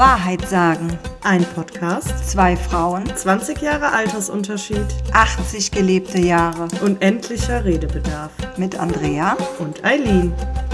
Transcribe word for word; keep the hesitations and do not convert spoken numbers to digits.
Wahrheit sagen. Ein Podcast, Zwei Frauen, zwanzig Jahre Altersunterschied, achtzig gelebte Jahre. unendlicher Redebedarf. Mit Andrea Und Eileen.